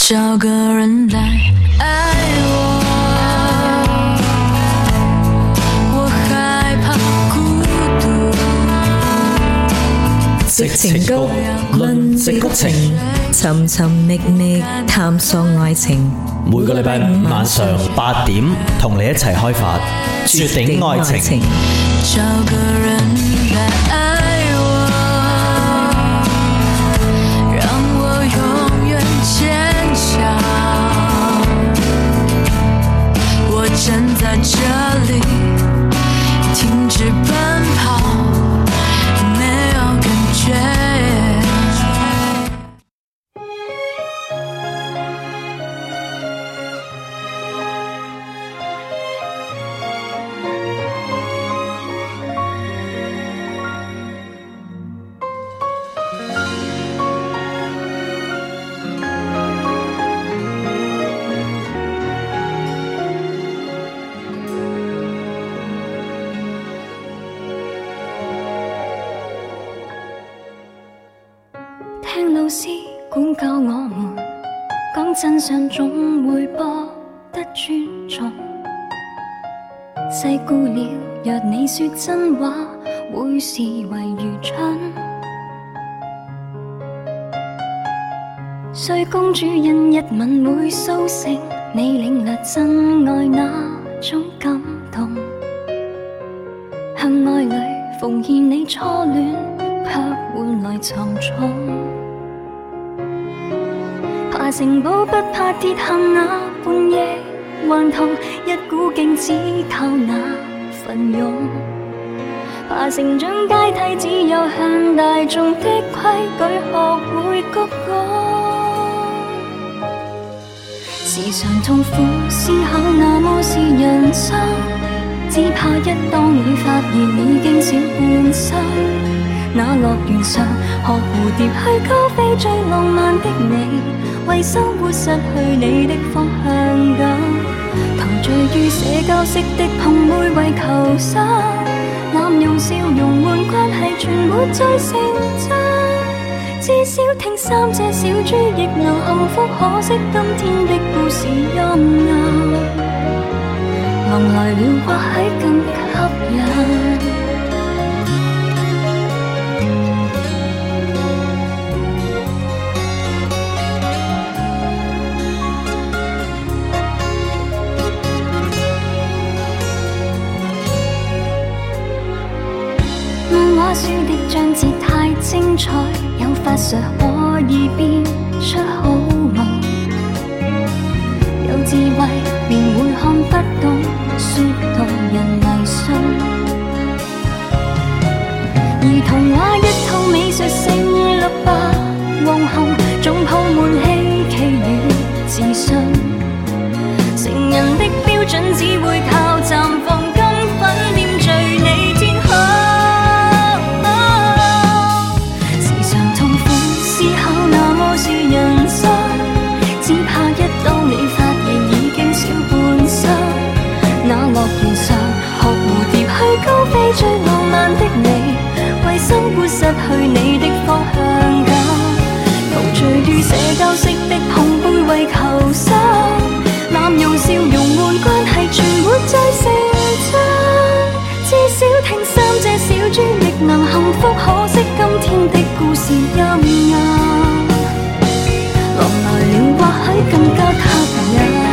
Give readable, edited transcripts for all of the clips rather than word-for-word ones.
找個人來愛我，我害怕孤獨。 矽情谷，論矽谷情，尋尋覓覓探索愛情。 每個禮拜五晚上8點，同你一齊開發絕頂愛情。 找個人來愛我，讓我永遠堅強。我站在這裡，停止奔跑，沒有感覺。 聽老師管教我們，講真相總會博得尊重。細估了，若你說真話，會視為愚蠢。睡公主因一吻會甦醒，你領略真愛那種感動。向愛侶奉獻你初戀，卻換來沉重。爬城堡不怕跌下那半夜頑童，一股勁只靠那奮勇。爬成長階梯只有向大眾的規矩學會鞠躬。時常痛苦思考那麼是人生，只怕一當你發現已經少半生。那樂園上學蝴蝶去高飛，最浪漫的你為生活失去你的方向感，陶醉於社交式的碰杯為求生，濫用笑容換關係全沒再成真。至少聽3隻小豬亦能幸福，可惜今天的故事陰暗，狼來了或許更吸引。書的章節太精彩，有法術可以變出好夢。有智慧便會看不懂，說動人迷信。而童話一套美術性綠白黃紅，總鋪滿希冀與自信。成人的標準只會靠綻放金粉點綴你天空。是人生，只怕一當你發現已經少半生。那樂園上學蝴蝶去高飛，最浪漫的你為生活失去你的方向感，陶醉於社交式的碰杯為求生，濫用笑容換關係全沒再成真。至少聽3隻小豬亦能幸福，可惜今天的故事陰暗，狼來了或許更加吸引。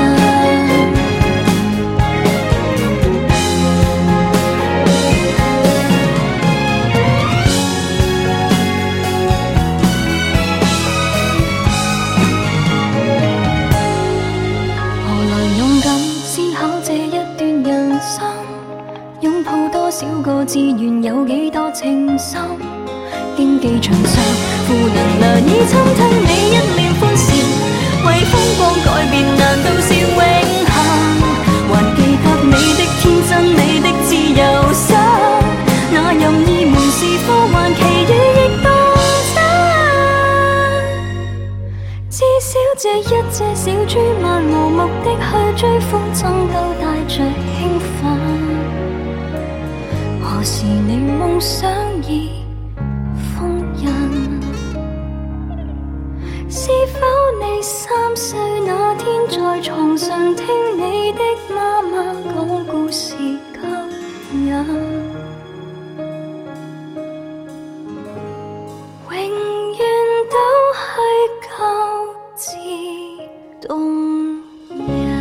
何來勇敢思考這一段人生，擁抱多少個志願，有幾多情深。競技場上負能難以侵吞你一臉歡笑，為風光改變難道是永恆？還記得你的天真，你的自由身，那任意門是科幻，奇遇亦當真。至少這一隻小豬漫無目的去追風箏，都帶着興奮。何時你夢想已封印？是否你3歲那天，在床上聽你的媽媽講故事吸引，永遠都係舊字動人。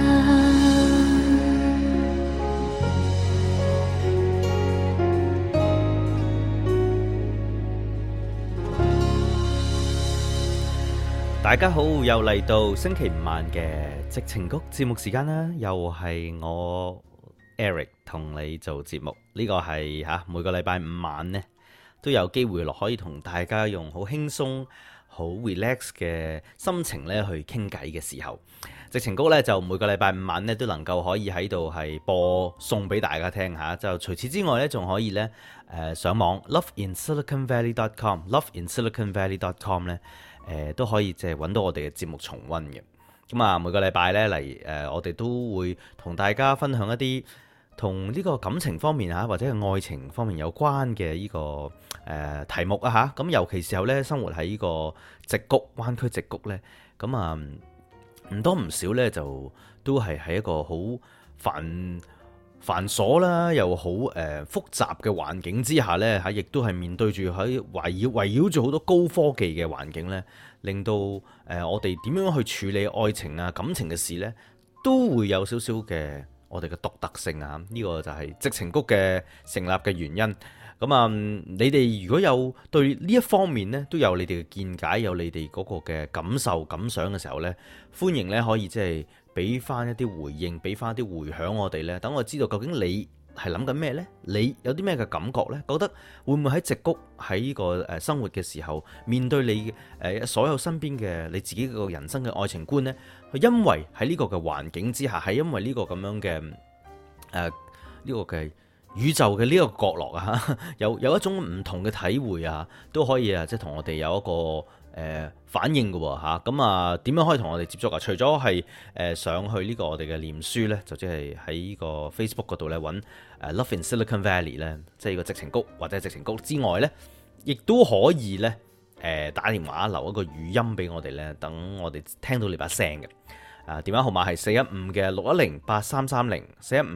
大家好，又嚟到星期五晚嘅矽情谷節目時間啦，又係我 Eric 同你做節目。呢個係每個禮拜五晚呢都有機會可以同大家用好輕鬆、好 relax 嘅心情咧去傾偈嘅時候，矽情谷咧就每個禮拜五晚咧都能夠可以喺度係播送俾大家聽吓。就除此之外咧，仲可以咧上網 loveinsiliconvalley.com 咧。都可以即係揾到我哋嘅節目重溫嘅。咁啊，每個禮拜呢嚟我哋都會同大家分享一啲同呢個感情方面或者係愛情方面有關嘅呢個題目啊嚇。咁尤其時候呢，生活喺呢個矽谷灣區矽谷呢，咁啊唔多唔少呢，就都係喺一個好繁瑣啦，又好複雜嘅環境之下呢，亦都係面對住喺圍繞住好多高科技嘅環境呢，令到我哋點樣去處理愛情啊感情嘅事呢，都會有少少嘅我哋嘅獨特性啊！呢個就係矽情谷嘅成立嘅原因。咁啊，你哋如果有對呢一方面呢，都有你哋嘅見解，有你哋嗰個嘅感受感想嘅時候呢，歡迎呢可以即係俾翻一啲回應，俾翻一啲回響我哋呢，等我知道究竟你係諗緊咩呢？你有啲咩嘅感覺呢？覺得會唔會喺矽谷喺呢個生活嘅時候，面對你所有身邊嘅你自己個人生嘅愛情觀呢？因為喺呢個嘅環境之下，係因為呢個咁樣嘅呢個嘅宇宙嘅呢個角落啊，有一種唔同嘅體會啊，都可以即係同我哋有一個反應嘅喎。咁啊點樣可以同我哋接觸啊？除咗係上去呢個我哋嘅臉書呢，就即係喺呢個 Facebook 嗰度呢揾Love in Silicon Valley 呢，即係呢個矽情谷或者矽情谷之外呢，亦都可以呢打電話留一個語音俾我哋呢，等我哋聽到你把聲嘅。電話號碼係415-610-8330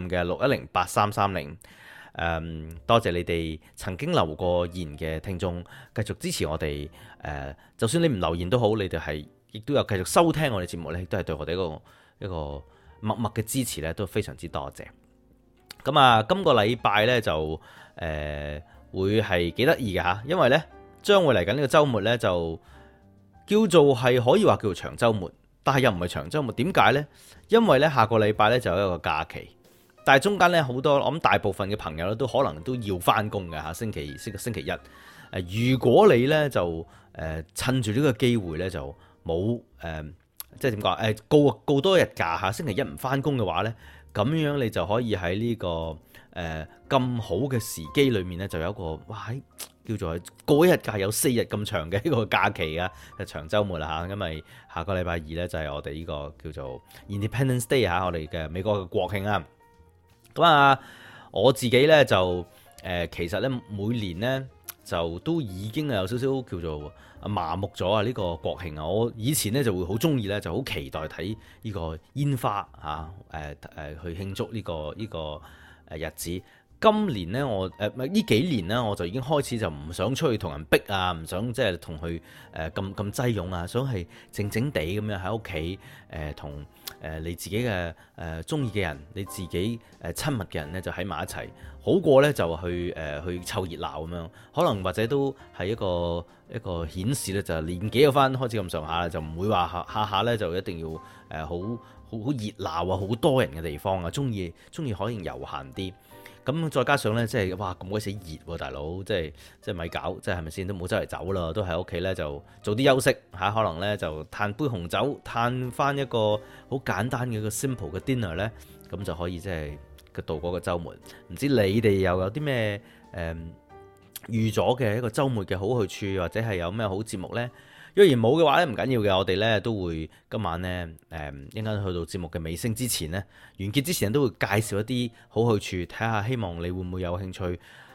415-610-8330。多謝你哋曾經留過言嘅聽眾，繼續支持我哋。就算你唔留言都好，你哋係亦都有繼續收聽我哋節目呢，都係對我哋一個默默嘅支持呢，都非常之多謝。咁啊，今個禮拜呢，就會係幾得意嘅吓，因為呢將會嚟緊呢個週末呢，就叫做係可以話叫做長週末，但係又唔係長週末。點解呢？因為呢下個禮拜呢，就有一個假期。但係中間咧好多，我諗大部分嘅朋友咧都可能都要翻工嘅嚇，星期一。如果你咧就趁住呢個機會咧就冇即係點講告多一日假嚇，星期一唔翻工嘅話咧，咁樣你就可以喺呢個咁好嘅時機裏面咧，就有一個叫做過一日假有4日咁長嘅一個假期啊，長週末啦嚇，因為下個禮拜二咧就係我哋呢個叫做 Independence Day 嚇，我哋嘅美國嘅國慶啊。咁啊，我自己咧就其實咧每年咧就都已經有少少叫做麻木咗啊！呢個國慶啊，我以前咧就會好中意咧，就好期待睇呢個煙花去慶祝呢個日子。今年咧我呢幾年咧我就已經開始就唔想出去同人逼啊，唔想即係同佢咁擠擁啊，想係靜靜地咁樣喺屋企同你自己嘅中意嘅人，你自己親密嘅人咧就喺埋一齊，好過咧就去湊熱鬧咁樣。可能或者都係一個顯示咧，就年紀有翻開始咁上下，就唔會話下下咧就一定要好熱鬧啊，好多人嘅地方啊，中意可以悠閒啲。咁再加上咧，即係哇咁鬼死熱喎，大佬，即係咪搞，即係咪先都冇周圍走啦，都喺屋企咧就做啲休息嚇，可能咧就嘆杯紅酒，嘆翻一個好簡單嘅一個 simple 嘅 dinner 咧，咁就可以即係度過個週末。唔知你哋又有啲咩預咗嘅一個週末嘅好去處，或者係有咩好節目咧？若然冇嘅話咧，唔緊要嘅，我哋咧都會今晚咧應該去到節目嘅尾聲之前咧，完結之前都會介紹一啲好去處，睇下希望你會唔會有興趣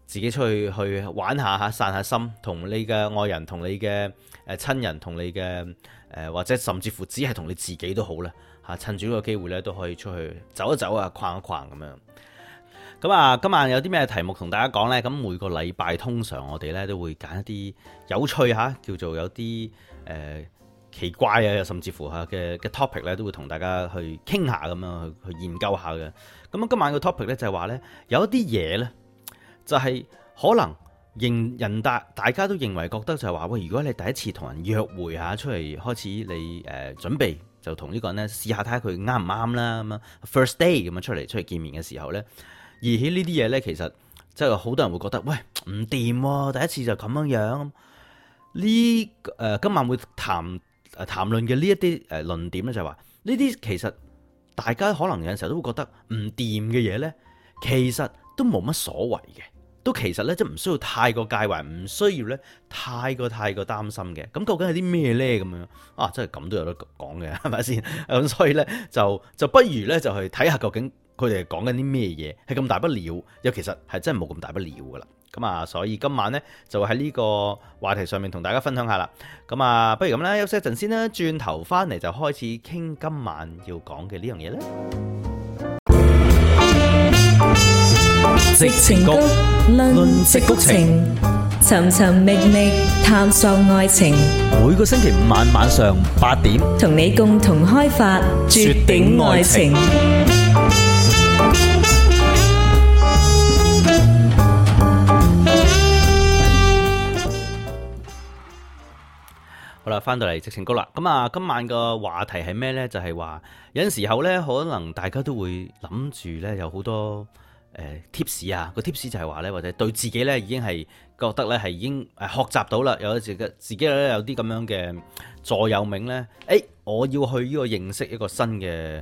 自己出去玩下嚇，散下心，同你嘅愛人、同你嘅親人、同你嘅或者甚至乎只係同你自己都好啦嚇，趁住呢個機會咧都可以出去走一走啊，逛一逛咁樣。咁啊，今晚有啲咩題目同大家講呢？咁每個禮拜通常我哋咧都會揀一啲有趣嚇，叫做有啲奇怪啊，甚至乎嚇嘅 topic 咧，都會同大家去傾下咁樣去研究下嘅。咁今晚個 topic 咧就係話咧，有一啲嘢咧就係可能大家都認為覺得就係話喂，如果你第一次同人約會嚇出嚟開始你準備就同呢個人咧試下睇下佢啱唔啱啦咁樣 first day 咁樣出嚟見面嘅時候咧。而起呢啲嘢呢，其實即係好多人會覺得，喂唔掂喎，第一次就咁樣。今晚會談論嘅呢一啲論點呢，就係話呢啲其實大家可能有陣時候都會覺得唔掂嘅嘢呢，其實都冇乜所謂嘅，都其實呢，即係唔需要太過介懷，唔需要呢太過擔心嘅。咁究竟係啲咩呢？咁樣啊，真係咁都有得講嘅，係咪先？咁所以呢，就不如呢，就去睇下究竟佢哋講緊啲咩嘢，係咁大不了，又其實係真係冇咁大不了噶啦。咁啊，所以今晚呢，就喺呢個話題上面同大家分享下啦。咁啊，不如咁啦，休息一陣先啦，轉頭翻嚟就開始傾今晚要講嘅呢樣嘢啦。 矽情谷論矽谷情，尋尋覓覓探索愛情。 每個星期五晚上8點， 同你共同開發絕頂愛情。 好啦，翻到嚟矽情谷啦。咁啊，今晚個話題係咩呢？就係話有陣時候呢，可能大家都會諗住呢，有好多tips 啊。個 tips 就係話呢，或者對自己呢已經係覺得呢係已經學習到啦。有自己呢有啲咁樣嘅座右銘呢。我要去呢個認識一個新嘅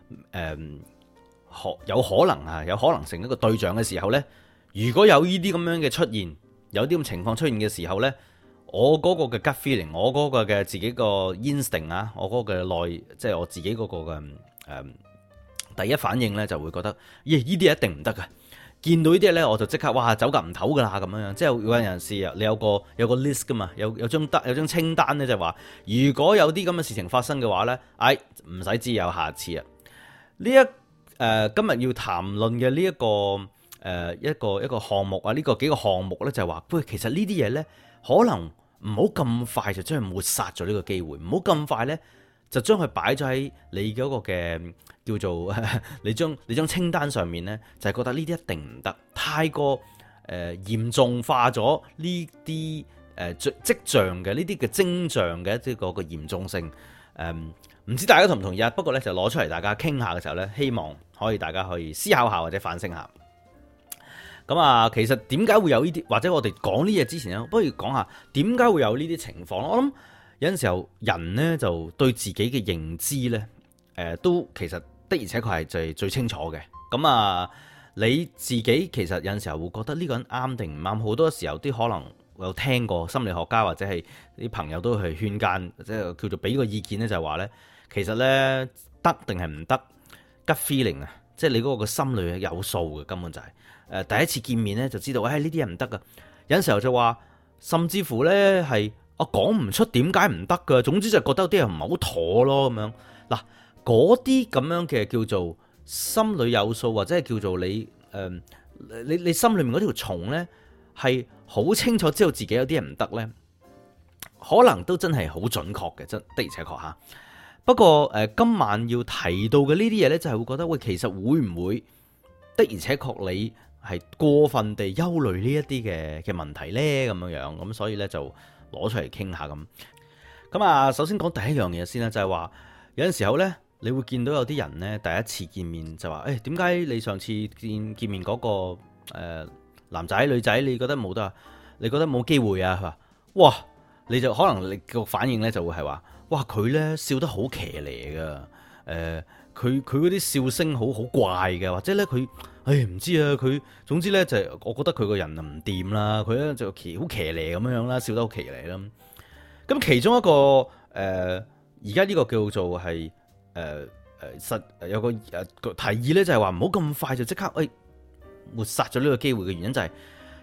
有可能成一個對象嘅時候呢，如果有呢啲咁樣嘅出現，有啲咁情況出現嘅時候呢，我嗰個嘅 gut feeling， 我嗰個嘅自己個 instinct 啊，我嗰個嘅即係我自己嗰個嘅第一反應呢，就會覺得，呢啲一定唔得噶。見到呢啲呢，我就即刻哇走夾唔唞噶啦咁樣。即係有陣時你有個 list 噶嘛，有張清單呢，就係話如果有啲咁嘅事情發生嘅話呢，唔使知有下次啊。今日要談論嘅呢一個項目啊，呢個幾個項目呢，就係話，喂，其實呢啲嘢呢，可能唔好咁快就將佢抹殺咗呢個機會，唔好咁快呢，就將佢擺咗喺你嗰個嘅叫做你將清單上面呢，就係覺得呢啲一定唔得，太過嚴重化咗呢啲跡象嘅呢啲嘅徵象嘅一啲嗰個嚴重性。唔知大家同唔同意啊？不過呢，就攞出嚟大家傾下嘅時候呢，希望大家可以思考下或者反省下。咁啊，其實點解會有呢啲？或者我哋講呢嘢之前呢，不如講下點解會有呢啲情況。我諗有陣時候人呢，就對自己嘅認知呢，都其實的而且確係最清楚嘅。咁啊，你自己其實有陣時候會覺得呢個人啱定唔啱，好多時候啲可能有聽過心理學家或者係啲朋友都去勸諫，即係叫做俾個意見呢，就係話呢，其實呢，得定係唔得 gut feeling 啊，即係你嗰個心裏有數嘅，根本就係。第一次見面咧就知道，呢啲嘢唔得噶。有陣時候就話，甚至乎咧係我講唔出點解唔得噶。總之就覺得有啲人唔係好妥咯咁樣。嗱，嗰啲咁樣嘅叫做心裏有數，或者係叫做你你心裏面嗰條蟲咧係好清楚知道自己有啲嘢唔得咧，可能都真係好準確嘅，真的而且確嚇。不過今晚要提到嘅呢啲嘢咧，就係會覺得，喂，其實會唔會的而且確你係過分地憂慮呢一啲嘅問題呢？咁樣咁所以呢，就攞出嚟傾下咁。咁啊，首先講第一樣嘢先啦，就係話有陣時候呢，你會見到有啲人呢，第一次見面就話，點解你上次見面嗰個男仔女仔，你覺得冇得啊？你覺得冇機會啊？佢話，哇！你就可能你個反應呢，就會係話，哇！佢呢笑得好騎呢噶，佢嗰啲笑聲好怪嘅，或者咧佢，唔知啊，佢總之咧就係我覺得佢個人唔掂啦，佢咧就好騎呢咁樣啦，笑得好騎呢啦。咁其中一個而家呢個叫做係有個提議咧，就係話唔好咁快就即刻抹殺咗呢個機會嘅原因就係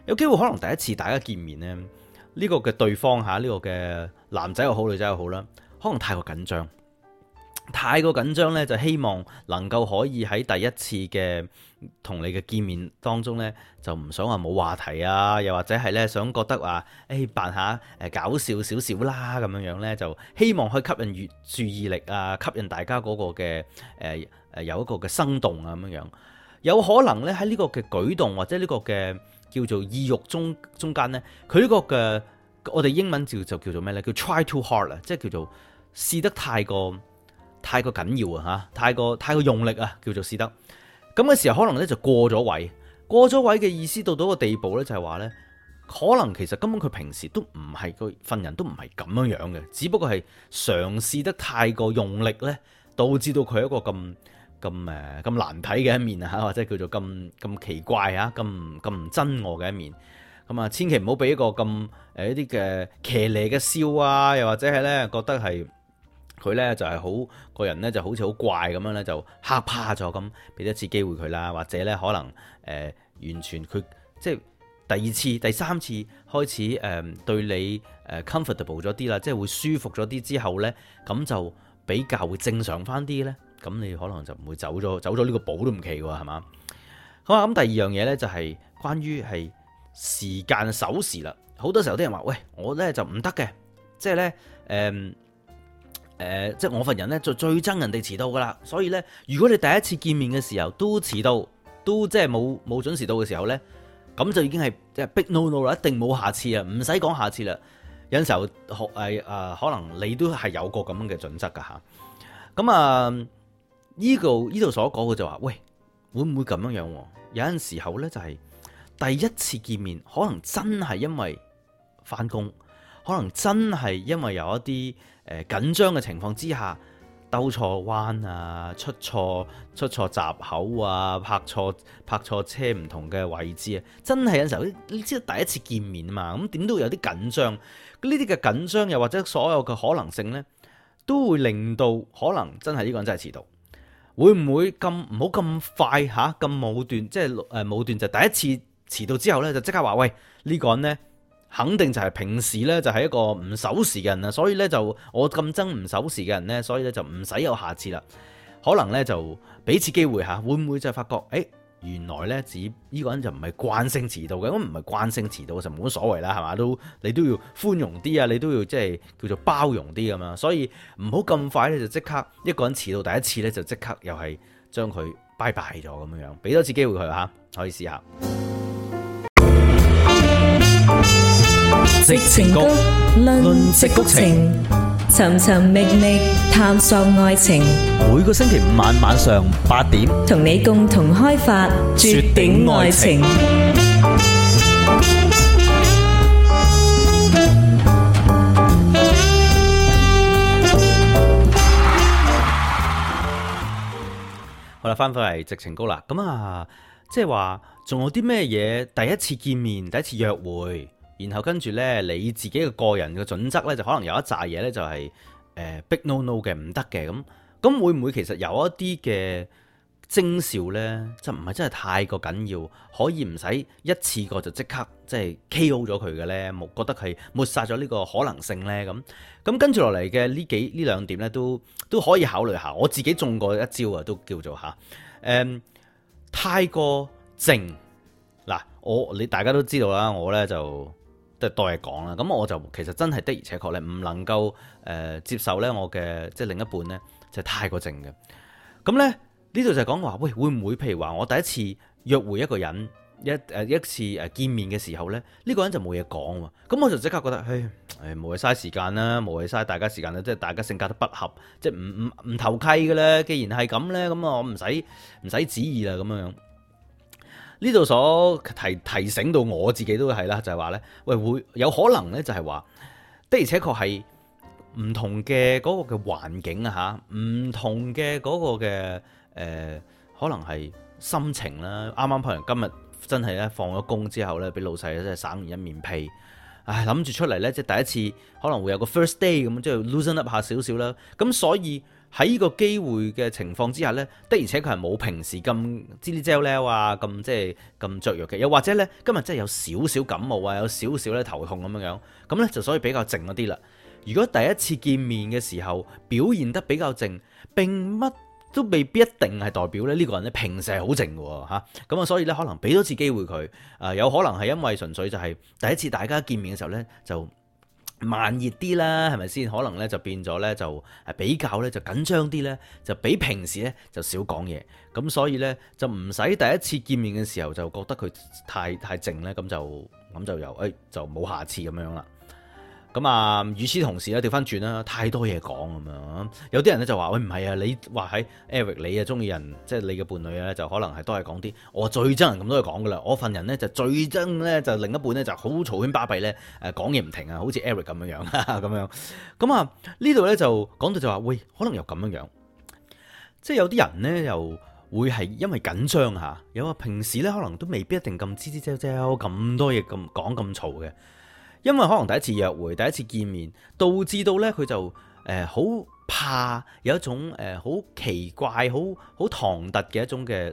有機會可能第一次大家見面呢，呢個嘅對方嚇，呢個嘅男仔又好女仔又好啦，可能太過緊張。太過緊張咧，就希望能夠可以喺第一次嘅同你嘅見面當中咧，就唔想話冇話題啊，又或者係咧想覺得話，扮下搞笑少少啦咁樣咧，就希望可以吸引注意力啊，吸引大家嗰個嘅有一個嘅生動啊咁樣。有可能咧喺呢個嘅舉動或者呢個嘅叫做意欲中間咧，佢呢個嘅我哋英文就叫做咩咧？叫 try too hard 啊，即係叫做試得太過緊要啊嚇，太過用力啊，叫做試得咁嘅時候，可能咧就過咗位。過咗位嘅意思到個地步咧，就係話咧，可能其實根本佢平時都唔係個份人都唔係咁樣樣嘅，只不過係嘗試得太過用力咧，導致到佢一個咁難睇嘅一面啊嚇，或者叫做咁奇怪啊，咁唔真我嘅一面。咁啊，千祈唔好俾一個咁一啲嘅騎呢嘅笑啊，又或者係咧覺得係。佢咧就係好個人咧就好似好怪咁樣咧，就嚇怕咗咁，俾一次機會佢啦，或者咧可能完全佢即係第二次、第三次開始對你comfortable 咗啲啦，即係會舒服咗啲之後咧，咁就比較會正常翻啲咧，咁你可能就唔會走咗呢個寶都唔奇喎，係嘛？好啊，咁第二樣嘢咧就係關於係時間守時啦。好多時候啲人話：喂，我咧就唔得嘅，即係咧即係我份人咧就最憎人哋遲到噶啦，所以咧如果你第一次見面嘅時候都遲到，都即係冇準時到嘅時候咧，咁就已經係即係 big no no 啦，一定冇下次啊，唔使講下次啦。有陣時候可能你都係有個咁樣嘅準則噶吓。咁啊呢度所講嘅就話，喂，會唔會咁樣樣？有陣時候咧就係第一次見面，可能真係因為翻工，可能真係因為有一啲緊張嘅情況之下，兜錯彎啊，出錯閘口啊，泊錯車唔同嘅位置啊，真係有陣時候你知道第一次見面啊嘛，咁點都會有啲緊張。呢啲嘅緊張又或者所有嘅可能性呢，都會令到可能真係呢個人真係遲到。會唔會咁唔好咁快嚇咁武斷？即係武斷就第一次遲到之後呢，就即刻話喂，呢個人呢，肯定就係平時呢，就係一個唔守時嘅人啊，所以呢，就我咁憎唔守時嘅人呢，所以呢，就唔使有下次啦。可能呢，就俾次機會嚇，會唔會就係發覺原來呢，呢個人就唔係慣性遲到嘅，咁唔係慣性遲到就冇乜所謂啦，係嘛？你都要寬容啲啊，你都要即係叫做包容啲咁嘛。所以唔好咁快呢，就即刻一個人遲到第一次呢，就即刻又係將佢拜拜咗咁樣，俾多次機會佢嚇，可以試下。 矽情谷論矽谷情，尋尋覓覓探索愛情。 每個星期五晚上8點， 同你共同開發絕頂愛情。 好啦，翻返嚟矽情谷啦。咁啊，即係話仲有啲咩嘢？第一次見面，第一次約會。然後跟住呢，你自己嘅個人嘅準則呢，就可能有一紮嘢呢，就係big no no 嘅，唔得嘅。咁會唔會其實有一啲嘅徵兆呢？就唔係真係太過緊要，可以唔使一次過就即刻即係 KO 咗佢嘅呢？覺得係抹殺咗呢個可能性呢？咁跟住落嚟嘅呢兩點呢，都可以考慮下。我自己中過一招啊，都叫做太過靜嗱，你大家都知道啦，我呢就。即係多嘢講啦，咁我就其實真係的而且確咧，唔能夠接受咧我嘅即係另一半咧就係太過靜嘅。咁咧呢度就係講話，喂，會唔會譬如話我第一次約會一個人一次見面嘅時候咧，呢個人就冇嘢講喎，咁我就即刻覺得，冇謂嘥時間啦，冇謂嘥大家時間啦，即係大家性格都不合，即係唔投契嘅咧。既然係咁咧，咁我唔使旨意啦，咁樣。呢度所提醒到我自己都係啦，就係話呢，喂，會有可能呢，就係話的而且確係唔同嘅嗰個嘅環境啊嚇，唔同嘅嗰個嘅可能係心情啦。啱啱譬如今日真係咧放咗工之後呢，俾老細真係省完一面屁， 諗住出嚟呢，即係第一次可能會有個 first day 咁，即係 loosen up 下少少啦。咁所以喺呢個機會嘅情況之下呢，的而且確係冇平時咁吱哩啫咧啊，咁即係咁雀躍嘅。又或者呢，今日真係有少少感冒啊，有少少咧頭痛咁樣，咁呢就所以比較靜一啲啦。如果第一次見面嘅時候表現得比較靜，並乜都未必一定係代表咧呢個人咧平時係好靜嘅嚇。咁啊，所以咧可能俾多次機會佢，有可能係因為純粹就係第一次大家見面嘅時候咧就慢熱啲啦，係咪先？可能咧就變咗咧就比較咧就緊張啲咧，就比平時咧就少講嘢。咁所以咧就唔使第一次見面嘅時候就覺得佢太靜咧，咁就又就冇下次咁樣啦。咁啊，與此同時咧，調翻轉啦，太多嘢講咁樣。有啲人咧就話：喂，唔係啊，你話喺 Eric， 你啊中意人，即係你嘅伴侶咧，就可能係都係講啲我最憎人咁多嘢講噶啦。我份人咧就最憎咧，就另一半咧就好嘈喧巴閉咧，講嘢唔停啊，好似 Eric 咁樣咁樣。咁啊，呢度咧就講到就話：喂，可能又咁樣，即係有啲人咧又會係因為緊張嚇，有啊平時咧可能都未必一定咁吱吱喳喳咁多嘢咁講咁嘈嘅。因為可能第一次約會、第一次見面，導致到咧佢就好怕有一種好奇怪、好唐突嘅一種嘅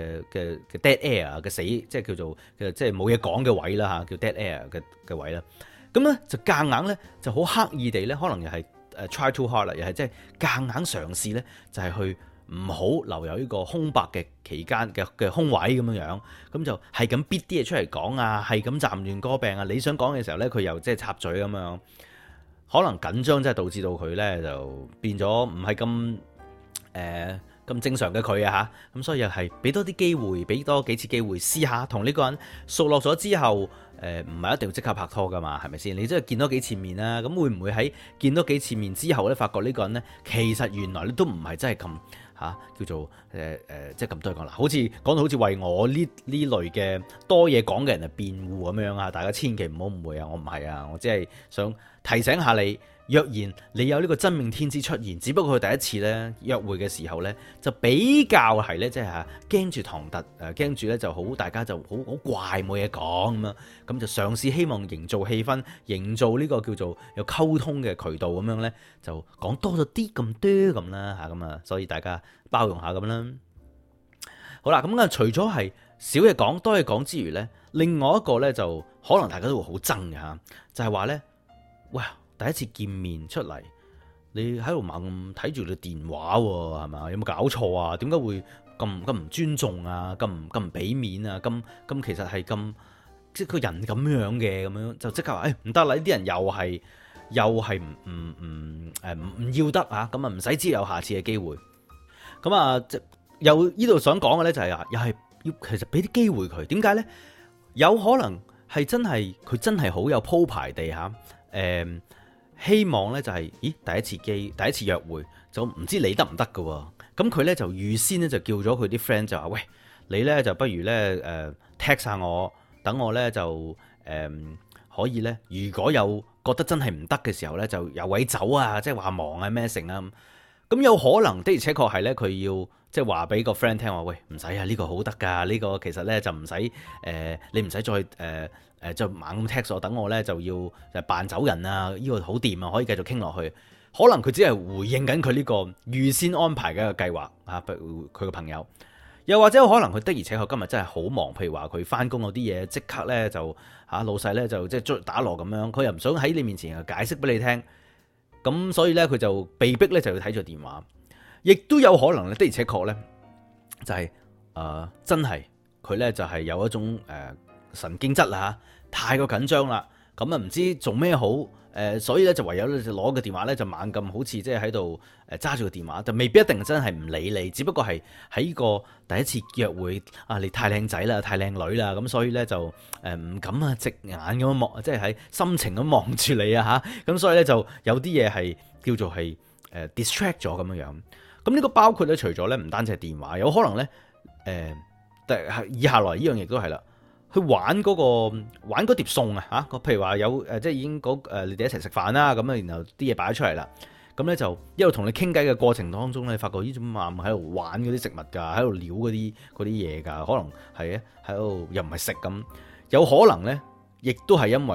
dead air 嘅死，即係叫做即係冇嘢講嘅位啦嚇，叫 dead air 嘅位啦。咁咧就夾硬咧就好刻意地咧，可能又係try too hard 啦，又係即係夾硬嘗試咧，就係去唔好留有呢個空白嘅期間嘅空位咁樣，咁就係咁逼啲嘢出嚟講啊，係咁暫亂歌病啊。你想講嘅時候咧，佢又即係插嘴咁樣，可能緊張真係導致到佢咧就變咗唔係咁正常嘅佢啊嚇。咁所以又係俾多啲機會，俾多幾次機會試下同呢個人熟絡咗之後，唔係一定要即刻拍拖噶嘛，係咪先？你真係見多幾次面啦，咁會唔會喺見多幾次面之後咧，發覺呢個人咧其實原來你都唔係真係咁。叫做即係咁多講啦，好似講到好似為我呢類嘅多嘢講嘅人嚟辯護咁樣啊！大家千祈唔好誤會啊，我唔係啊，我只係想提醒下你，若然你有呢個真命天子出現，只不過佢第一次咧約會嘅時候咧，就比較係咧即係驚住唐突，驚住咧就好大家就好怪冇嘢講咁樣，咁就嘗試希望營造氣氛，營造呢個叫做有溝通嘅渠道咁樣咧，就講多咗啲咁多咁啦嚇，咁啊，所以大家包容下咁啦。好啦，咁啊除咗係少嘢講多嘢講之餘咧，另外一個咧就可能大家都會好憎嘅嚇，就係話咧，哇！第一次見面出嚟，你喺度猛睇住你電話喎，係嘛？有冇搞錯啊？點解會咁唔尊重啊？咁唔俾面啊？咁其實係咁即係個人咁樣嘅咁樣，就即刻話唔得啦！呢啲人又係唔要得啊！咁啊唔使知有下次嘅機會。咁啊，又呢度想講嘅咧就係又係要其實俾啲機會佢。點解咧？有可能係真係佢真係好有鋪排地嚇希望咧就係，第一次約會就唔知你得唔得㗎喎，咁佢咧就預先咧就叫咗佢啲 friend 就話，喂，你咧就不如咧text 下我，等我咧就可以咧，如果有覺得真係唔得嘅時候咧，就有位走啊，即係話忙啊咩成啊，咁有可能的而且確係咧，佢要即係話俾個 friend 聽話，喂，唔使啊，呢個好得㗎，呢個其實咧就唔使你唔使再就猛咁 text 我，等我咧就要扮走人啊！呢個好掂啊，可以繼續傾落去。可能佢只係回應緊佢呢個預先安排嘅一個計劃啊，佢個朋友。又或者可能佢的而且確今日真係好忙，譬如話佢翻工嗰啲嘢，即刻咧就老細咧就即係打鑼咁樣，佢又唔想喺你面前解釋俾你聽，咁所以咧佢就被逼咧就要睇住電話。亦都有可能咧的而且確咧就係真係佢咧就係有一種神經質啦，太過緊張啦，咁啊唔知做咩好，所以咧就唯有咧就攞個電話咧就猛咁，好似即係喺度揸住個電話，就未必一定真係唔理你，只不過係喺個第一次約會啊，你太靚仔啦，太靚女啦，咁所以咧就唔敢啊直眼咁樣望，即係喺深情咁望住你啊嚇，咁所以咧就有啲嘢係叫做係distract 咗咁樣樣。咁呢個包括咧除咗咧唔單止係電話，有可能咧以下來呢樣嘢都係啦。去玩嗰碟餸啊嚇，譬如話有即係已經你哋一齊食飯啦，咁啊然後啲嘢擺咗出嚟啦，咁咧就一路同你傾偈嘅過程當中咧，發覺呢種媽喺度玩嗰啲食物㗎，喺度撩嗰啲嘢㗎，可能係喺度又唔係食咁，有可能咧，亦都係因為咧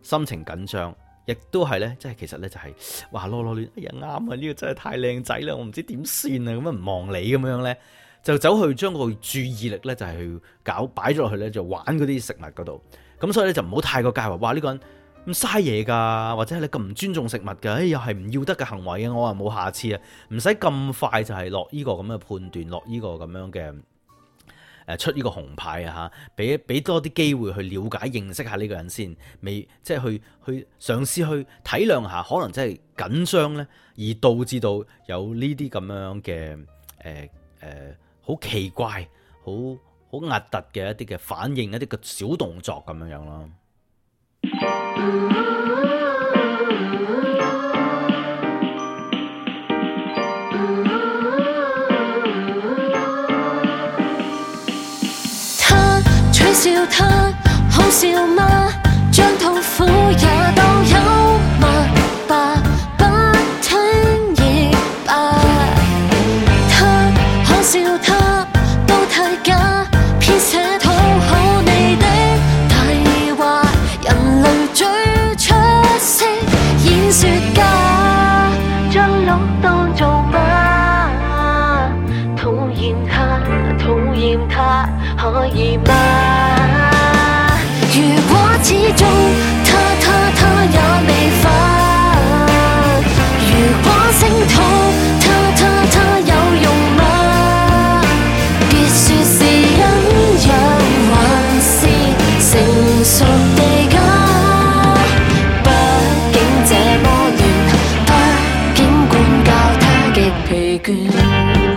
心情緊張，亦都係呢，即係其實呢，就係話囉囉攣，哎呀啱啊，呢個真係太靚仔啦，我唔知點算啊，咁樣唔望你咁樣呢，就走去將個注意力呢，就係去擺咗落去呢，就玩嗰啲食物嗰度。咁所以咧就唔好太過介懷，哇呢個人咁嘥嘢噶，或者係你咁唔尊重食物噶，又係唔要得嘅行為啊！我話冇下次啊，唔使咁快就係落呢個咁嘅判斷，落呢個咁樣嘅出呢個紅牌啊嚇，俾多啲機會去了解認識下呢個人先，未即係去嘗試去體諒下，可能真係緊張咧，而導致到有呢啲咁樣嘅好奇怪好壓突嘅一啲嘅反應，一啲嘅小動作咁樣樣咯。 他取笑他好笑嗎？將痛苦也當幽默吧，不聽亦罷。他可笑他都太假，編寫討好你的題話，人類最出色演說家，將鹿當做馬，討厭他可以嗎？如果始終他也未發，如果聲討他有用嗎？別說是忍讓還是成熟地假，畢竟這麼亂，畢竟管教他極疲倦。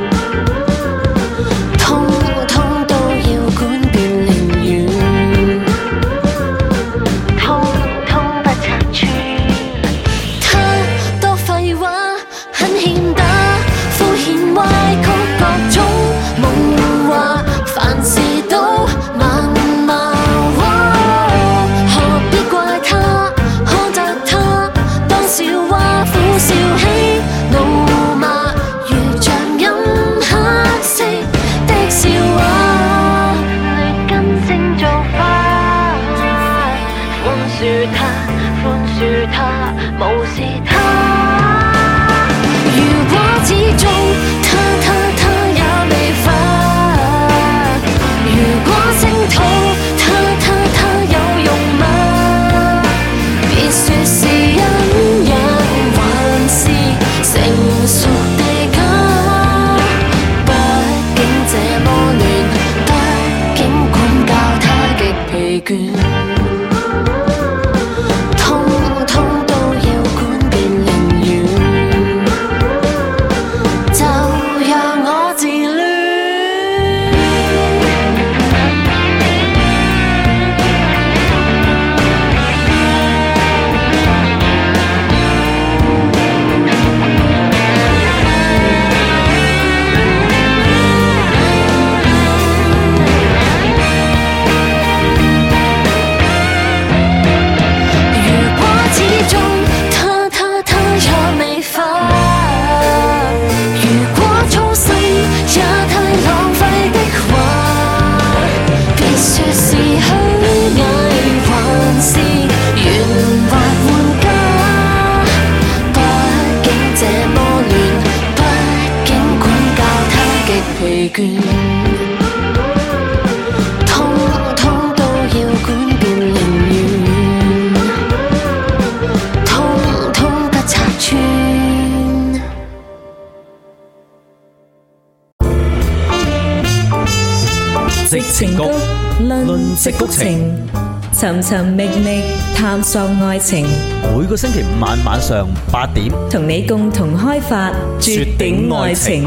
矽情谷論矽谷情，尋尋覓覓探索愛情。 每個星期五晚上8點， 同你共同開發絕頂愛情。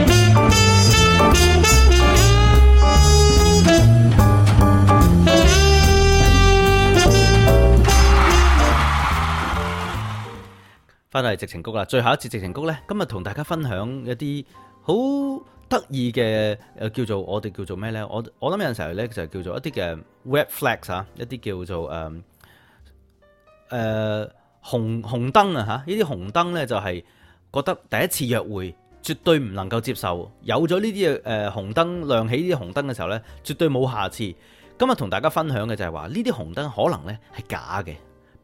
翻到嚟矽情谷啦，最後一次矽情谷呢，今日同大家分享一啲好得意嘅叫做我哋叫做咩呢？我諗有陣時候呢，就係叫做一啲嘅 red flags 啊，一啲叫做紅燈啊嚇！呢啲紅燈呢，就係覺得第一次約會絕對唔能夠接受，有咗呢啲紅燈亮起呢啲紅燈嘅時候呢，絕對冇下次。今日同大家分享嘅就係話呢啲紅燈可能呢係假嘅，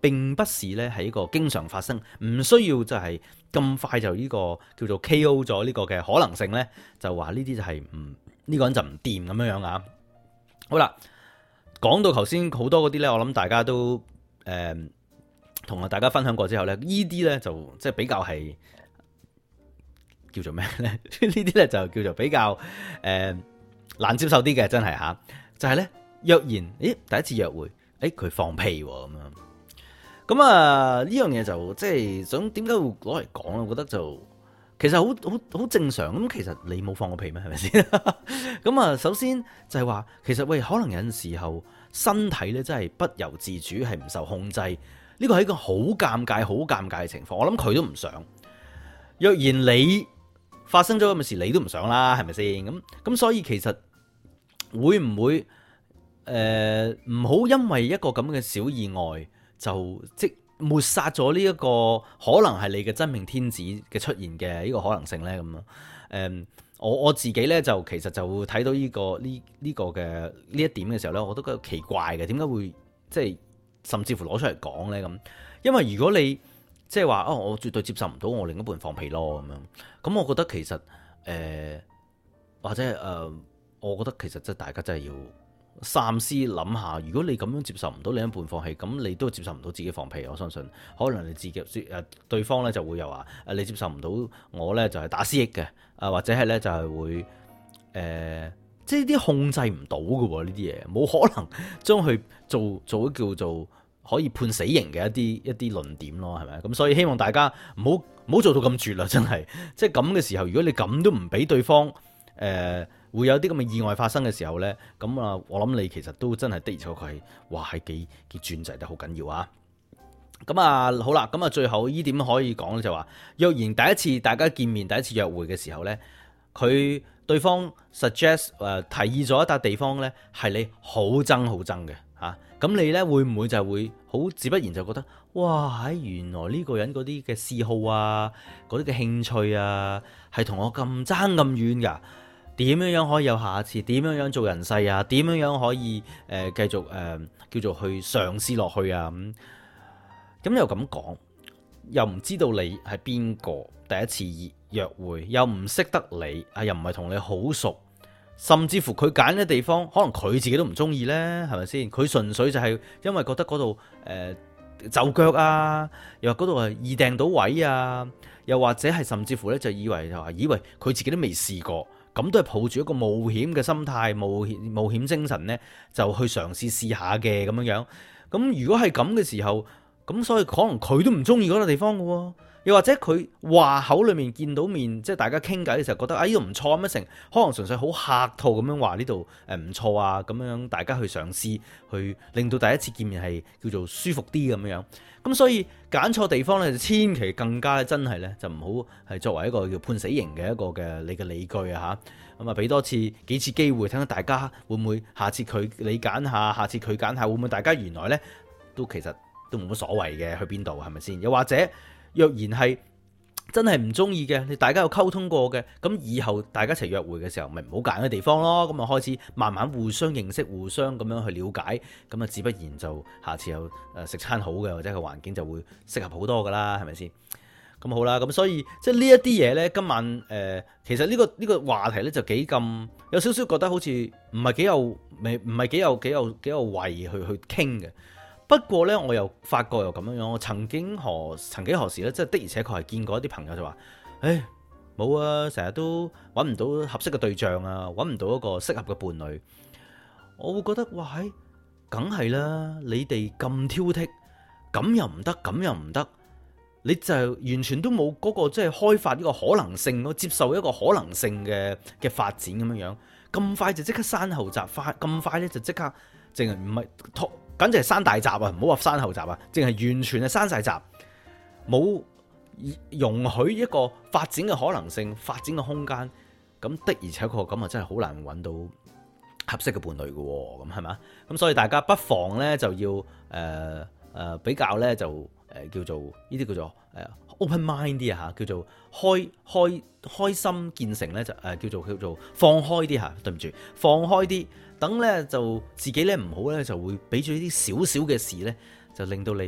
並不是咧係一個經常發生，唔需要就係咁快就呢個叫做 KO 咗呢個嘅可能性咧，就話呢啲就係呢個人就唔掂咁樣樣啊。好啦，講到頭先好多嗰啲咧，我諗大家都同大家分享過之後咧，呢啲咧就即係比較係叫做咩咧？呢啲咧就叫做比較難接受啲嘅，真係吓，就係咧若然第一次約會，佢放屁咁樣。咁啊，呢樣嘢就即係想點解會攞嚟講咧？我覺得就其實好正常。咁其實你冇放過屁咩？係咪先？咁啊，首先就係話，其實喂，可能有陣時候身體咧真係不由自主，係唔受控制。呢個係一個好尷尬嘅情況。我諗佢都唔想。若然你發生咗咁嘅事，你都唔想啦，係咪先？咁所以其實會唔會唔好因為一個咁嘅小意外，就即抹殺咗呢一個可能係你嘅真命天子嘅出現嘅呢個可能性呢？咁啊，我自己呢，就其實就睇到呢個嘅呢一點嘅時候呢，我都覺得奇怪嘅，點解會即係甚至乎攞出嚟講呢？咁？因為如果你即係話我絕對接受唔到我另一半放屁咯咁樣，咁我覺得其實或者我覺得其實即係大家真係要三思諗下，如果你咁樣接受唔到另一半放屁，咁你都接受唔到自己放屁。我相信可能你自己對方咧就會又話你接受唔到我咧就係打思噎嘅，或者係咧就係會即係啲控制唔到嘅喎，呢啲嘢冇可能將佢做叫做可以判死刑嘅一啲論點咯，係咪？咁所以希望大家唔好做到咁絕啦，真係即係咁嘅時候，如果你咁都唔俾對方會有啲咁嘅意外發生嘅時候呢，咁啊，我諗你其實都真係的而且確係，哇，係幾轉制得好緊要啊！咁啊，好啦，咁啊，最後呢點可以講就話，若然第一次大家見面、第一次約會嘅時候呢，對方 suggest 提議咗一笪地方呢，係你好憎嘅嚇，咁你呢會唔會就會好自不然就覺得，哇，原來呢個人嗰啲嘅嗜好啊，嗰啲嘅興趣啊，係同我咁爭咁遠㗎？點樣可以有下次？點樣做人世啊？點樣可以繼續叫做去嘗試落去啊？咁又咁講，又唔知道你係邊個，第一次約會又唔識得你，又唔係同你好熟，甚至乎佢揀嘅地方，可能佢自己都唔中意呢，係咪先？佢純粹就係因為覺得嗰度就腳啊，又話嗰度係易訂到位啊，又或者係甚至乎咧就以為佢自己都未試過。咁都係抱住一個冒險嘅心態、冒險精神呢，就去嘗試下嘅咁樣。咁如果係咁嘅時候，咁所以可能佢都唔中意嗰個地方嘅喎。又或者佢話口裏面見到面，即係大家傾偈嘅時候覺得呢度唔錯乜成，可能純粹好客套咁樣話呢度唔錯啊，咁樣大家去嘗試去令到第一次見面係叫做舒服啲咁樣。咁所以揀錯地方咧，就千祈更加真係咧，就唔好係作為一個叫判死刑嘅一個嘅你嘅理據啊嚇。咁啊，俾多幾次機會，睇下大家會唔會下次你揀下，下次佢揀下，會唔會大家原來咧都其實都冇乜所謂嘅，去邊度係咪先？又或者若然係真係唔中意嘅，你大家有溝通過嘅，咁以後大家一齊約會嘅時候，咪唔好揀嘅地方咯。咁啊開始慢慢互相認識，互相咁樣去了解，咁啊自不然就下次有食餐好嘅，或者個環境就會適合好多噶啦，係咪先？咁好啦，咁所以即係呢一啲嘢呢，今晚其實呢個話題呢，就幾咁有少少覺得好似唔係幾有位去傾嘅。不過呢，我又發覺又咁樣樣，我曾經何時呢，即係的而且確係見過一啲朋友就話，冇啊，成日都揾唔到合適嘅對象啊，揾唔到一個適合嘅伴侶。我會覺得哇，梗係啦，你哋咁挑剔，咁又唔得，咁又唔得，你就完全都冇嗰個即係開發呢個可能性，接受一個可能性嘅發展咁樣樣，咁快就即刻閂後閘，咁快呢就即刻淨係唔係簡直係閂大閘啊！唔好話閂後閘啊，淨係完全係閂晒閘，冇容許一個發展嘅可能性、發展嘅空間。咁的而且確咁啊，真係好難揾到合適嘅伴侶嘅喎。咁係嘛？咁所以大家不妨咧就要比較咧就叫做呢啲叫做open mind 啲啊嚇，叫做開心見誠咧就叫做放開啲嚇。對唔住，放開啲。等咧就自己咧唔好咧就會俾住呢啲少少嘅事咧，就令到你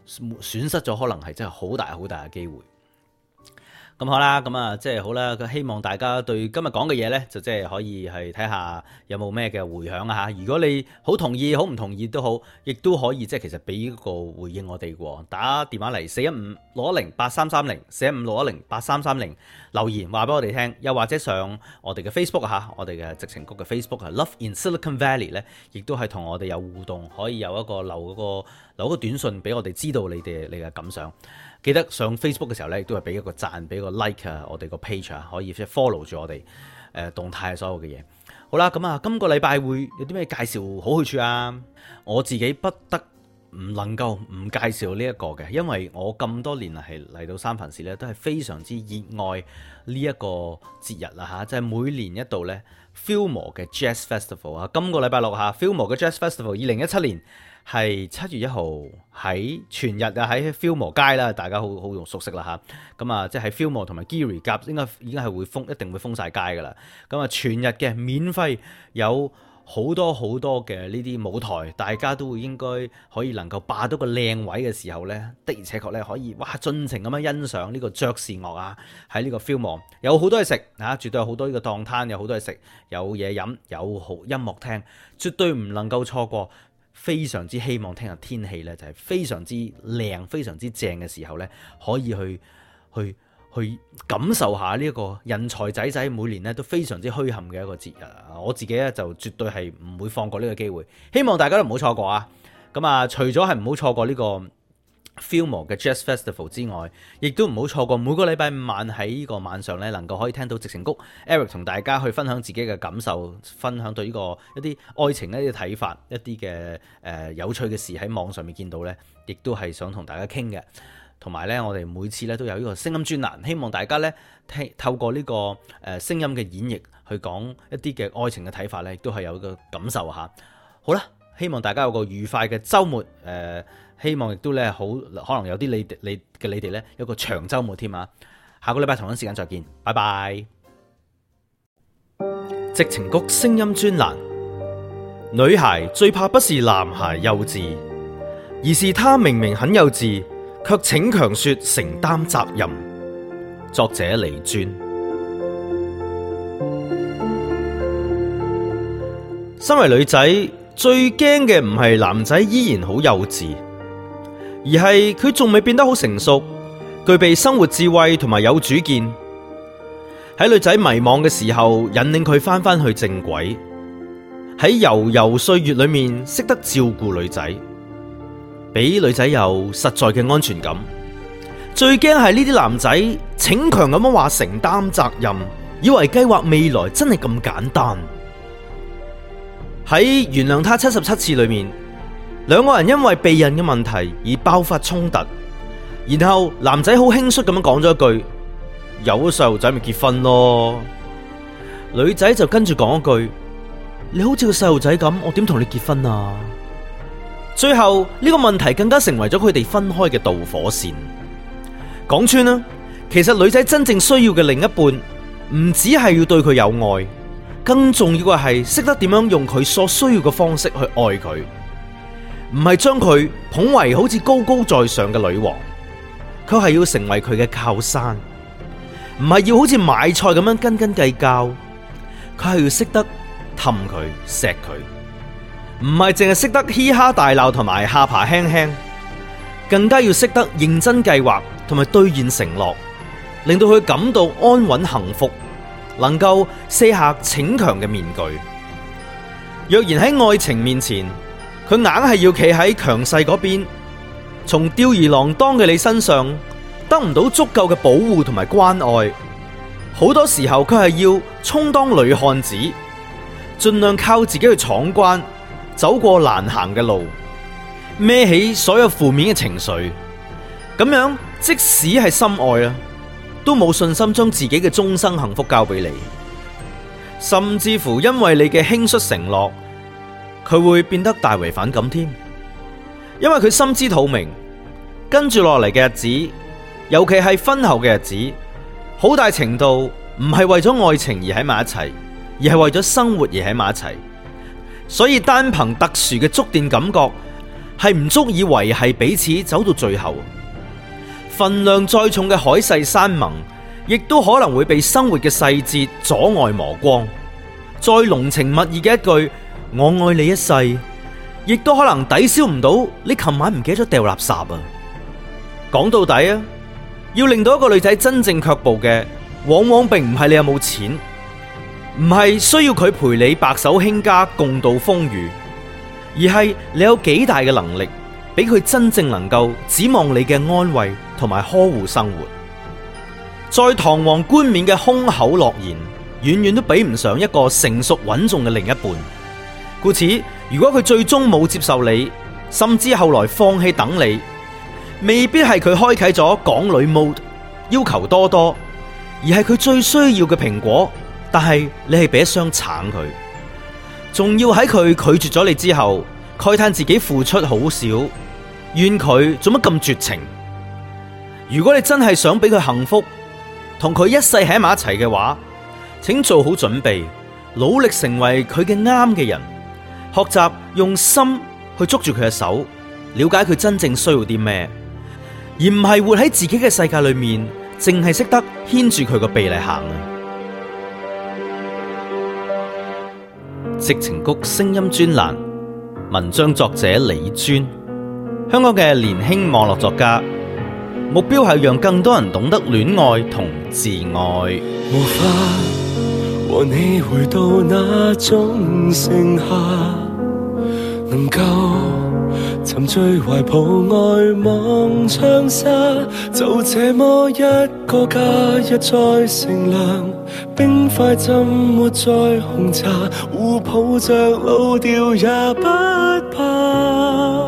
損失咗可能係真係好大好大嘅機會。咁好啦，咁啊即係好啦，希望大家對今日講嘅嘢呢，就即係可以係睇下有冇咩嘅回響啊吓。如果你好同意，好唔同意都好，亦都可以即係其實俾個回應我哋喎。打電話嚟415-610-8330，415-610-8330留言話俾我哋聽，又或者上我哋嘅 Facebook 吓，我哋嘅矽情谷嘅 Facebook Love in Silicon Valley 呢，亦都係同我哋有互動，可以有一個留個短信俾我哋知道你嘅感想。記得上 Facebook 嘅時候咧，亦都係俾一個讚，俾個 like 啊，我哋個 page 啊，可以 follow 住我哋動態所有嘅嘢。好啦，咁啊，今個禮拜會有啲咩介紹好去處啊？我自己不得唔能夠唔介紹呢一個嘅，因為我咁多年嚟到三藩市咧，都係非常之熱愛呢一個節日啦嚇，即係每年一度咧 Fillmore 嘅 Jazz Festival 啊。今個禮拜六嚇 Fillmore 嘅 Jazz Festival 2017年。係7月1號喺全日啊，喺 Fillmore 街啦，大家好熟悉啦吓。咁啊，即係 Fillmore 同埋 Geary 夾應該已經係會封，一定會封晒街噶啦。咁啊，全日嘅免費有好多嘅呢啲舞台，大家都會應該可以能夠霸到個靚位嘅時候呢，的而且確咧可以哇盡情咁樣欣賞呢個爵士樂啊。喺呢個 Fillmore 有好多嘢食啊，絕對有好多呢個檔攤，有好多嘢食，有嘢飲，有好音樂聽，絕對唔能夠錯過。非常之希望聽日天氣呢，就係非常之靚、非常之正嘅時候呢，可以去感受下呢一個人才仔每年呢都非常之墟冚嘅一個節日。我自己呢，就絕對係唔會放過呢個機會，希望大家都唔好錯過啊！咁啊，除咗係唔好錯過呢個 Fillmore 嘅 Jazz Festival 之外，亦都唔好錯過每個禮拜5晚喺呢個晚上咧，能夠可以聽到矽情谷 Eric 同大家去分享自己嘅感受，分享對呢個一啲愛情一啲睇法，一啲嘅有趣嘅事喺網上面見到咧，亦都係想同大家傾嘅。同埋咧，我哋每次咧都有呢個聲音專欄，希望大家咧透過呢個聲音嘅演繹去講一啲嘅愛情嘅睇法咧，亦都係有個感受吓。好啦，希望大家有個愉快嘅週末，希望亦都咧好，可能有啲你哋咧有個長週末添啊！下個禮拜同一時間再見，拜拜。矽情谷聲音專欄，女孩最怕不是男孩幼稚，而是他明明很幼稚，卻逞強說承擔責任。作者李尊。身為女仔，最驚嘅唔係男仔依然好幼稚，而係佢仲未變得好成熟，具備生活智慧同埋有主見。喺女仔迷惘嘅時候，引領佢翻去正軌。喺悠悠歲月裏面，識得照顧女仔，俾女仔有實在嘅安全感。最驚係呢啲男仔逞強咁樣話承擔責任，以為計劃未來真係咁簡單。喺原諒他77次裏面，兩個人因為避孕嘅問題而爆發衝突，然後男仔好輕率咁樣講咗一句：有咗細路仔咪結婚咯。女仔就跟住講一句：你好似個細路仔咁，我點同你結婚啊？最後呢個問題更加成為咗佢哋分開嘅導火線。講穿啦，其實女仔真正需要嘅另一半，唔只係要對佢有愛，更重要嘅係識得點樣用佢所需要嘅方式去愛佢，唔係將佢捧為好似高高在上嘅女王，佢係要成為佢嘅靠山，唔係要好似買菜咁樣斤斤計較，佢係要識得氹佢錫佢，唔係淨係識得嘻哈大鬧同埋下巴輕輕，更加要識得認真計劃同埋兌現承諾，令到佢感到安穩幸福，能夠卸下逞強嘅面具。若然喺愛情面前，佢硬係要企喺強勢嗰邊，從吊兒郎當嘅你身上得唔到足夠嘅保護同埋關愛，好多時候佢係要充當女漢子，盡量靠自己去闖關，走過難行嘅路，孭起所有負面嘅情緒，咁樣即使係深愛啊，都冇信心將自己嘅終生幸福交俾你，甚至乎因為你嘅輕率承諾，佢會變得大為反感添。因為佢心知肚明，跟住落嚟嘅日子，尤其係婚後嘅日子，好大程度唔係為咗愛情而喺埋一齊，而係為咗生活而喺埋一齊。所以單憑特殊嘅觸電感覺， 係唔足以維繫彼此走到最後。份量再重嘅海誓山盟，亦都可能會被生活嘅細節阻礙磨光。再濃情蜜意嘅一句我愛你一世，亦都可能抵消唔到你琴晚唔記得咗掉垃圾啊！講到底啊，要令到一個女仔真正卻步嘅，往往並唔係你有冇錢，唔係需要佢陪你白手興家共度風雨，而係你有幾大嘅能力，俾佢真正能夠指望你嘅安慰同埋呵護生活。再堂皇冠冕嘅空口諾言，遠遠都比唔上一個成熟穩重嘅另一半。故此，如果佢最終冇接受你，甚至後來放棄等你，未必係佢開啟咗港女 mode， 要求多多，而係佢最需要嘅蘋果，但係你係俾一箱橙佢，仲要喺佢拒絕咗你之後，慨嘆自己付出好少，怨佢做乜咁絕情。如果你真係想俾佢幸福，同佢一世喺埋一齊嘅話，請做好準備，努力成為佢嘅啱嘅人，學習用心去捉住佢嘅手，了解佢真正需要啲咩，而唔係活喺自己嘅世界裏面，淨係識得牽住佢個鼻嚟行。矽情谷聲音專欄，文章作者李尊，香港嘅年輕網絡作家，目標係讓更多人懂得戀愛同自愛。 無法和你回到那種盛夏，能夠沉醉懷抱愛望長沙，就這麼一個假日再乘涼，冰塊浸沒在紅茶，互抱着老掉也不怕。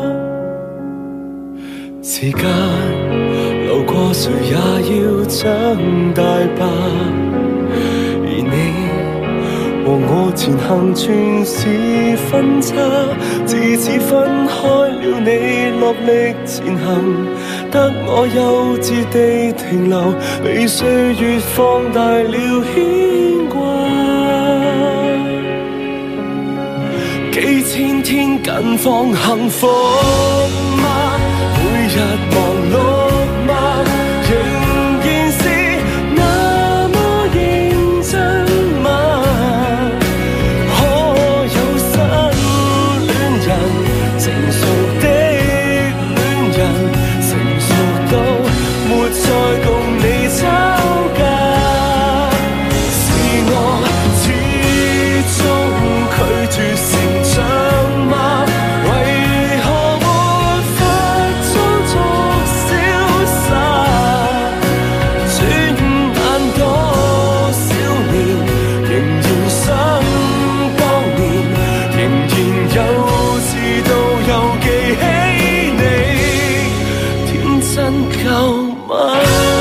時間流過，誰也要長大吧，而你和我前行全是分岔，自此分開了，你落力前行，得我幼稚地停留，被歲月放大了牽掛。幾千天近況幸福嗎？每日忙碌嗎？仍然是那麼認真嗎？可有新戀人，成熟的戀人，成熟到沒再共你吵架。是我始終拒絕成長嗎？為何沒法裝作瀟灑？轉眼多少年，仍然想當年，仍然幼稚到又記起你，天真夠嗎？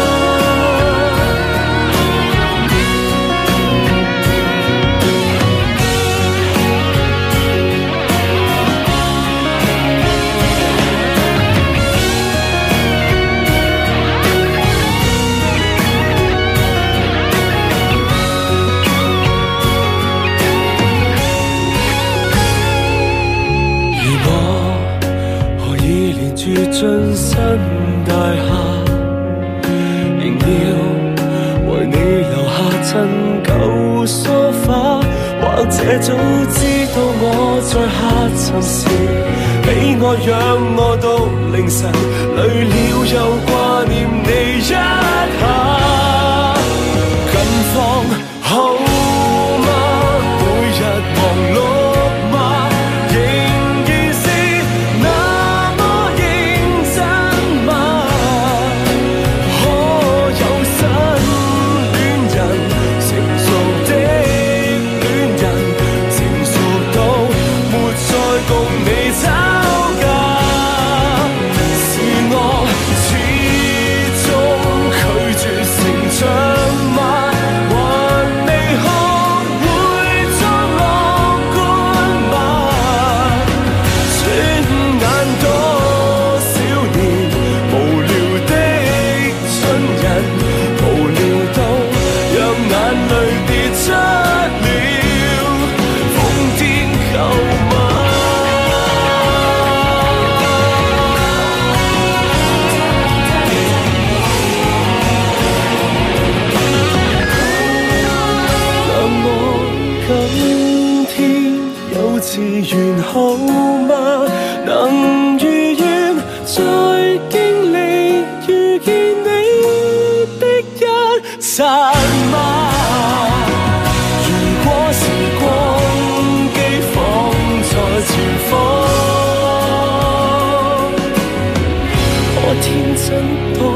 進新大廈，仍要為你留下陳舊梳化，或者早知道我在下沉時，俾我讓我到凌晨，累了又掛念你一下。近況好嗎？每日忙碌嗎？還完好嗎？能如願再經歷遇見你的一剎嗎？如果時光機放在前方，我天真多